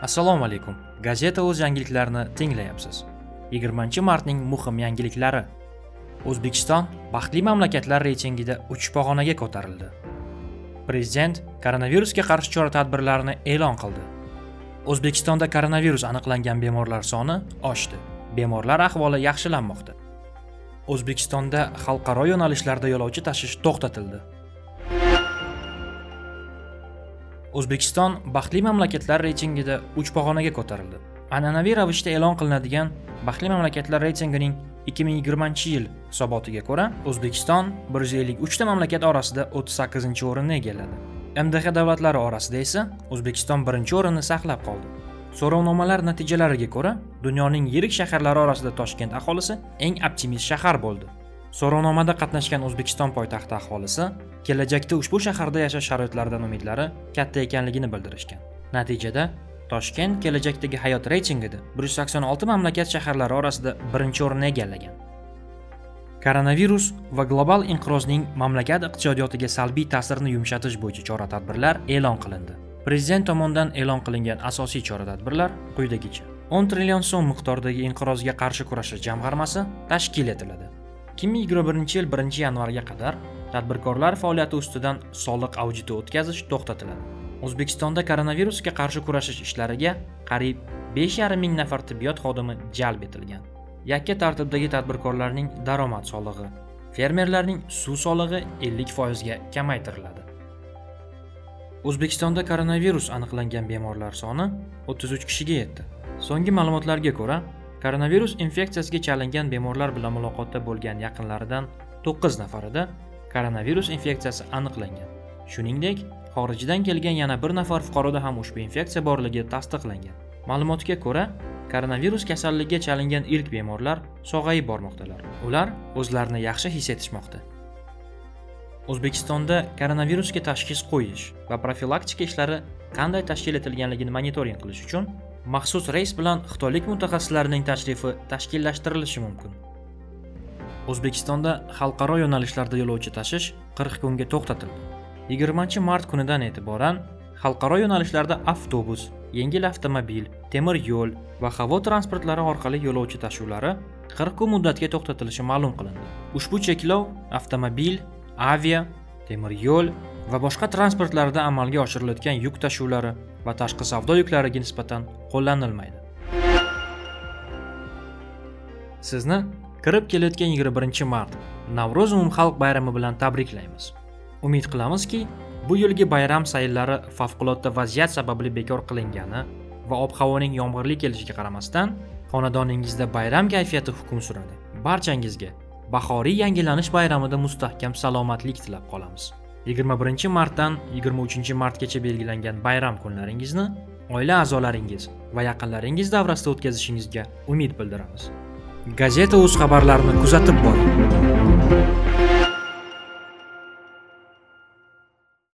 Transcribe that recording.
Assalomu alaykum. Gazeta o'z yangiliklarini tinglayapsiz. 20-martning muhim yangiliklari. O'zbekiston baxtli mamlakatlar reytingida 3 pog'onaga ko'tarildi. Prezident koronavirusga qarshi chora-tadbirlarni e'lon qildi. O'zbekistonda koronavirus aniqlangan bemorlar soni oshdi. Bemorlar ahvoli yaxshilanmoqda. O'zbekistonda xalqaro yo'nalishlarda yo'lovchi tashish to'xtatildi. O'zbekiston baxtli mamlakatlar reytingida 3 pog'onaga ko'tarildi. An'anaviy ravishda e'lon qilinadigan baxtli mamlakatlar reytingining 2020-yil hisobotiga ko'ra, O'zbekiston 153 ta mamlakat orasida 38-o'rinni egalladi. MDH davlatlari orasida esa O'zbekiston 1-o'rinni saqlab qoldi. So'rovnomalar natijalariga ko'ra, dunyoning yirik shaharlari orasida Toshkent aholisi eng optimist shahar bo'ldi. So'rovnomada qatnashgan O'zbekiston poytaxti aholisi kelajakda ushbu shaharda yashash sharoitlaridan umidlari katta ekanligini bildirishgan. Natijada Toshkent kelajakdagi hayot reytingida 186 mamlakat shaharlari orasida 1-o'rinni egallagan. Koronavirus va global inqirozning mamlakat iqtisodiyotiga salbiy ta'sirini yumshatish bo'yicha chora-tadbirlar e'lon qilindi. Prezident tomonidan e'lon qilingan asosiy chora-tadbirlar quyidagicha. 10 trillion so'm miqdoridagi inqirozga qarshi kurashish jamg'armasi tashkil etiladi. 2021-yil 1-yanvarga qadar tadbirkorlar faoliyati ustidan soliq auditi o'tkazish to'xtatiladi. O'zbekistonda koronavirusga qarshi kurashish ishlariga qariyb 5,5 ming nafar tibbiyot xodimi jalb etilgan. Yakka tartibdagi tadbirkorlarning daromad solig'i, fermerlarning suv solig'i 50% ga kamaytiriladi. O'zbekistonda koronavirus aniqlangan bemorlar soni 33 kishiga yetdi. So'nggi ma'lumotlarga ko'ra, koronavirus infeksiyasiga chalingan bemorlar bilan muloqotda bo'lgan yaqinlaridan 9 nafarida koronavirus infeksiyasi aniqlangan. Shuningdek, xorijdan kelgan yana bir nafar fuqaroda ham ushbu infeksiya borligi tasdiqlangan. Ma'lumotga ko'ra, koronavirus kasalligiga chalingan ilk bemorlar sog'ayib bormoqdalar. Ular o'zlarini yaxshi his etishmoqda. O'zbekistonda koronavirusga tashxis qo'yish va profilaktika ishlari qanday tashkil etilganligini monitoring qilish uchun maxsus reys bilan xitoylik mutaxassislarning tashrifi tashkillashtirilishi mumkin. O'zbekistonda xalqaro yo'nalishlarda yo'lovchi tashish 40 kunga to'xtatildi. 20-mart kunidan e'tiboran xalqaro yo'nalishlarda avtobus, yengil avtomobil, temir yo'l va havo transportlari orqali yo'lovchi tashuvlari 40 kun muddatga to'xtatilishi ma'lum qilindi. Ushbu cheklov avtomobil, avia, temir yo'l va boshqa transportlarda amalga oshirilayotgan yuk tashuvlari va tashqi savdo yuklariga nisbatan qo'llanilmaydi. Sizni kirib kelayotgan 21-mart Navro'z umumxalq bayrami bilan tabriklaymiz. Umid qilamizki, bu yilgi bayram sayllari favqulodda vaziyat sababli bekor qilingani va ob-havoning yomg'irli kelishiga qaramasdan, xonadoningizda bayram kayfiyati hukm suradi. Barchangizga bahoriy yangilanish bayramida mustahkam salomatlik tilab qolamiz. 21-martdan 23-martgacha belgilangan bayram kunlaringizni oila a'zolaringiz va yaqinlaringiz davrasida o'tkazishingizga umid bildiramiz. Gazeta o'z xabarlarini kuzatib boring.